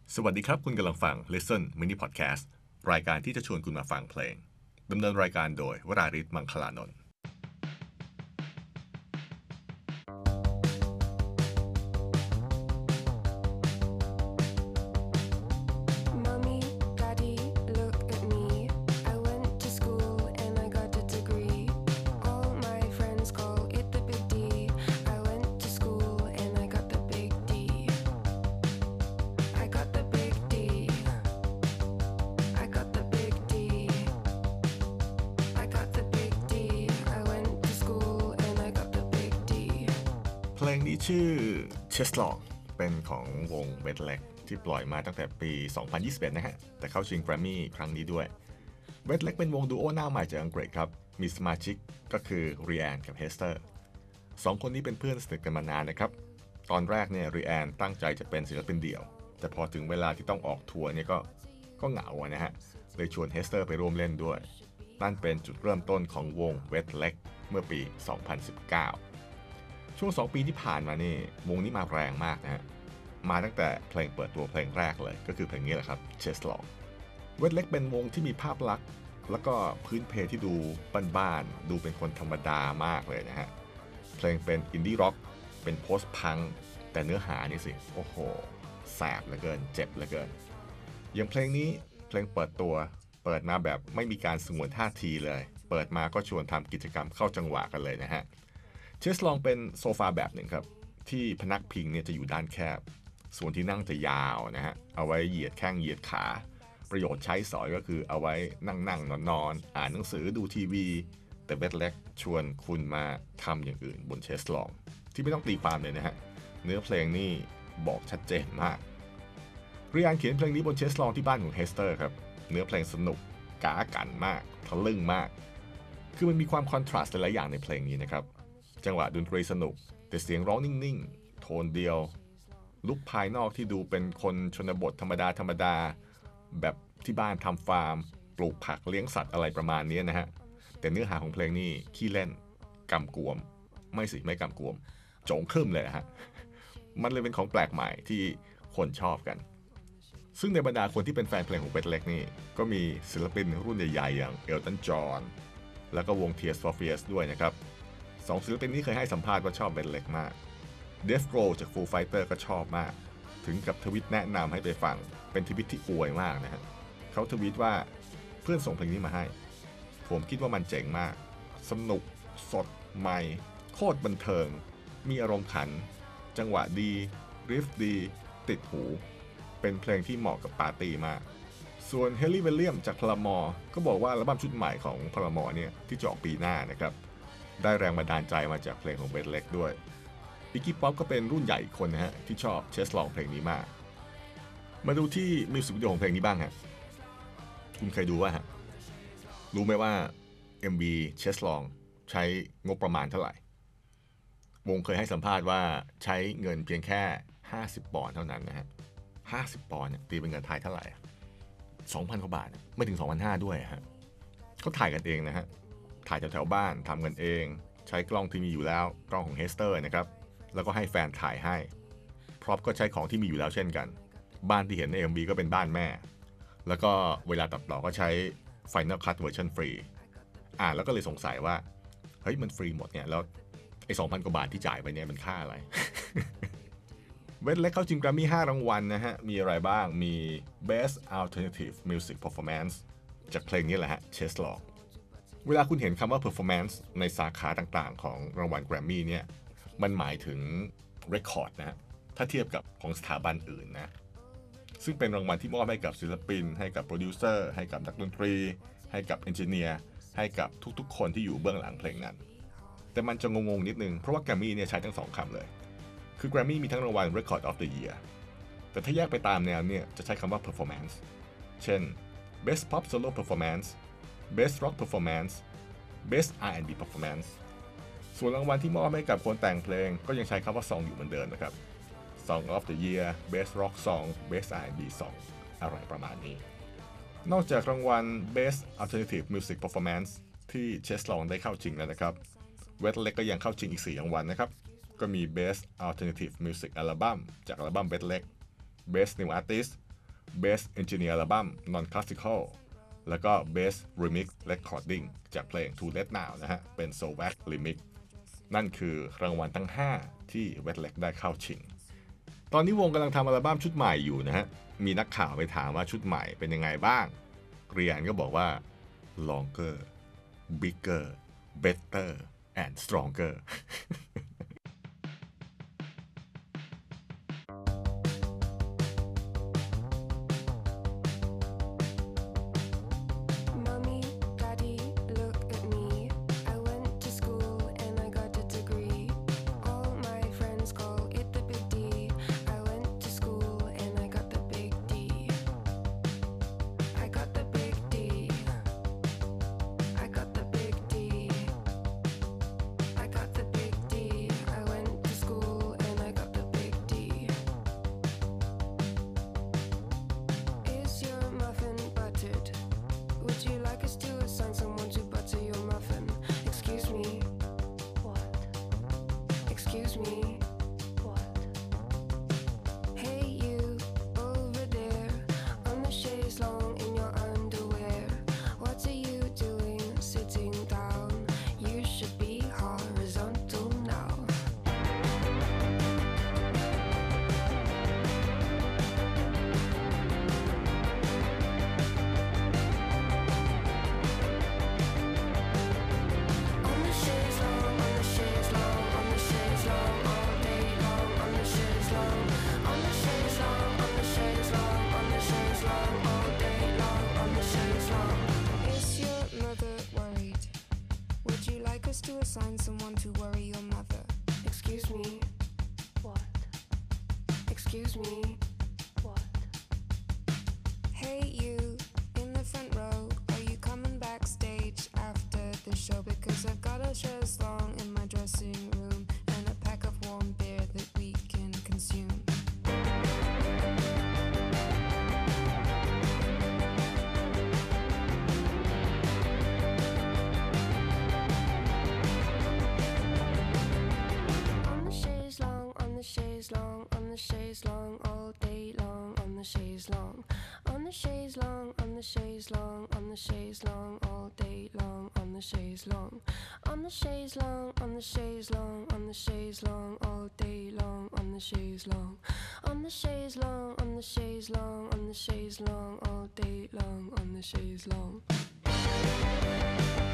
สวัสดีครับคุณกำลังฟัง Listen Mini Podcast รายการที่จะชวนคุณมาฟังเพลงดำเนินรายการโดยวราริศ มังคลานนท์เพลงนี้ชื่อ Cheslock เป็นของวง Wet Leg ที่ปล่อยมาตั้งแต่ปี 2021 นะฮะแต่เข้าชิง Grammy ครั้งนี้ด้วย Wet Leg เป็นวงดูโอหน้าใหม่จากอังกฤษครับมีสมาชิกก็คือ Rianne กับ Hester สองคนนี้เป็นเพื่อนสนิทกันมานานนะครับตอนแรกเนี่ย Rianne ตั้งใจจะเป็นศิลปินเดี่ยวแต่พอถึงเวลาที่ต้องออกทัวร์เนี่ยก็เหงานะฮะเลยชวน Hester ไปร่วมเล่นด้วยนั่นเป็นจุดเริ่มต้นของวง Wet Leg เมื่อปี 2019ช่วง2 ปีที่ผ่านมานี่วงนี้มาแรงมากนะฮะมาตั้งแต่เพลงเปิดตัวเพลงแรกเลยก็คือเพลงนี้แหละครับ Cheslock Wet Leg เป็นวงที่มีภาพลักษณ์แล้วก็พื้นเพที่ดูบ้านๆดูเป็นคนธรรมดามากเลยนะฮะเพลงเป็นอินดี้ร็อกเป็นโพสต์พังแต่เนื้อหานี่สิโอ้โหแสบเหลือเกินเจ็บเหลือเกินอย่างเพลงนี้เพลงเปิดตัวเปิดมาแบบไม่มีการสงวนท่าทีเลยเปิดมาก็ชวนทำกิจกรรมเข้าจังหวะกันเลยนะฮะCheslock เป็นโซฟาแบบหนึ่งครับที่พนักพิงเนี่ยจะอยู่ด้านแคบส่วนที่นั่งจะยาวนะฮะเอาไว้เหยียดแข้งเหยียดขาประโยชน์ใช้สอยก็คือเอาไว้นั่งนอนอ่านหนังสือดูทีวีแต่Wet Legชวนคุณมาทำอย่างอื่นบนCheslockที่ไม่ต้องตีความเลยนะฮะเนื้อเพลงนี่บอกชัดเจนมากRianneเขียนเพลงนี้บนCheslockที่บ้านของ Hester ครับเนื้อเพลงสนุกก๋ากั่นมากทะลึ่งมากคือมันมีความคอนทราสต์หลายอย่างในเพลงนี้นะครับจังหวะดนตรีสนุกแต่เสียงร้องนิ่งๆโทนเดียวลุคภายนอกที่ดูเป็นคนชนบทธรรมดาแบบที่บ้านทำฟาร์มปลูกผักเลี้ยงสัตว์อะไรประมาณนี้นะฮะแต่เนื้อหาของเพลงนี่ขี้เล่นกำกวมไม่กำกวมโจงครึ่มเลยฮะมันเลยเป็นของแปลกใหม่ที่คนชอบกันซึ่งในบรรดาคนที่เป็นแฟนเพลงของWet Legนี่ก็มีศิลปินรุ่นใหญ่ๆอย่างเอลตันจอห์นแล้วก็วง Tears for Fears ด้วยนะครับสองศิลปินนี้เคยให้สัมภาษณ์ว่าชอบWet Legมาก Dave Grohl จาก Foo Fighters ก็ชอบมากถึงกับทวิตแนะนำให้ไปฟังเป็นทวิตที่อวยมากนะฮะเขาทวิตว่าเพื่อนส่งเพลงนี้มาให้ผมคิดว่ามันเจ๋งมากสนุกสดใหม่โคตรบันเทิงมีอารมณ์ขันจังหวะดีริฟดีติดหูเป็นเพลงที่เหมาะกับปาร์ตี้มากส่วนเฮลลี่ วิลเลียมจากพลามอร์ก็บอกว่าอัลบั้มชุดใหม่ของพลามอร์เนี่ยที่จะออกปีหน้านะครับได้แรงบันดาลใจมาจากเพลงของWet Legด้วยIggy Popก็เป็นรุ่นใหญ่อีกคนนะฮะที่ชอบCheslockเพลงนี้มากมาดูที่มิวสิกวิดีโอของเพลงนี้บ้างฮะคุณเคยดูว่าฮะรู้ไหมว่า MV Cheslock ใช้งบประมาณเท่าไหร่วงเคยให้สัมภาษณ์ว่าใช้เงินเพียงแค่50 ปอนด์เท่านั้นนะฮะ50 ปอนด์เนี่ยตีเป็นเงินไทยเท่าไหร่ 2,000 กว่าบาทไม่ถึง 2,500 ด้วยฮะเขาถ่ายกันเองนะฮะถ่ายแถวๆบ้านทำกันเองใช้กล้องที่มีอยู่แล้วกล้องของ Hester นะครับแล้วก็ให้แฟนถ่ายให้พร็อพก็ใช้ของที่มีอยู่แล้วเช่นกันบ้านที่เห็นใน MV ก็เป็นบ้านแม่แล้วก็เวลาตัดต่อก็ใช้ Final Cut เวอร์ชันฟรีแล้วก็เลยสงสัยว่าเฮ้ยมันฟรีหมดเนี่ยแล้วไอ้ 2,000 กว่าบาทที่จ่ายไปเนี่ยมันค่าอะไร Wet Leg เข้าชิง Grammy 5 รางวัลนะฮะมีอะไรบ้างมี Best Alternative Music Performance จากเพลงนี้แหละฮะ Cheslockเวลาคุณเห็นคำว่า performance ในสาขาต่างๆของรางวัล Grammy เนี่ยมันหมายถึง record นะฮะถ้าเทียบกับของสถาบันอื่นนะซึ่งเป็นรางวัลที่มอบให้กับศิลปินให้กับโปรดิวเซอร์ให้กับนักดนตรีให้กับเอนจิเนียร์ให้กับทุกๆคนที่อยู่เบื้องหลังเพลงนั้นแต่มันจะงงๆนิดนึงเพราะว่า Grammy เนี่ยใช้ทั้ง2 คำเลยคือ Grammy มีทั้งรางวัล Record of the Year แต่ถ้าแยกไปตามแนวเนี่ยจะใช้คำว่า performance เช่น Best Pop Solo Performance Best Rock Performance Best R&B Performance ส่วนรางวัลที่มอบให้กับคนแต่งเพลงก็ยังใช้คำว่า Song อยู่เหมือนเดิมนะครับ Song of the Year Best Rock Song Best R&B Song อะไรประมาณนี้นอกจากรางวัล Best Alternative Music Performance ที่Cheslockได้เข้าชิงแล้วนะครับWet Legก็ยังเข้าชิงอีก4 รางวัลนะครับก็มี Best Alternative Music Album จากอัลบั้ม Wet Leg Best New Artist Best Engineer Album Non Classical แล้วก็ Best Remix Recording จากเพลง To Let Now นะฮะเป็น Soulwax Remix นั่นคือรางวัลทั้ง 5 ที่ Wetleg ได้เข้าชิงตอนนี้วงกำลังทำอัลบั้มชุดใหม่อยู่นะฮะมีนักข่าวไปถามว่าชุดใหม่เป็นยังไงบ้างเรียนก็บอกว่า longer bigger better and stronger To assign someone to worry your mother. Excuse me. What? Excuse me. What? Hey you, in the front row, are you coming backstage after the show? Because I've got a chaise longue in my dressing room and a pack of warm beer that we can consume. On the chaise longue all day long, on the chaise longue, on the chaise longue, on the chaise longue, on the chaise longue all day long, on the chaise longue, on the chaise longue, on the chaise longue, on the chaise longue all day long, on the chaise longue, on the chaise longue, on the chaise longue, on the chaise longue all day long, on the chaise longue.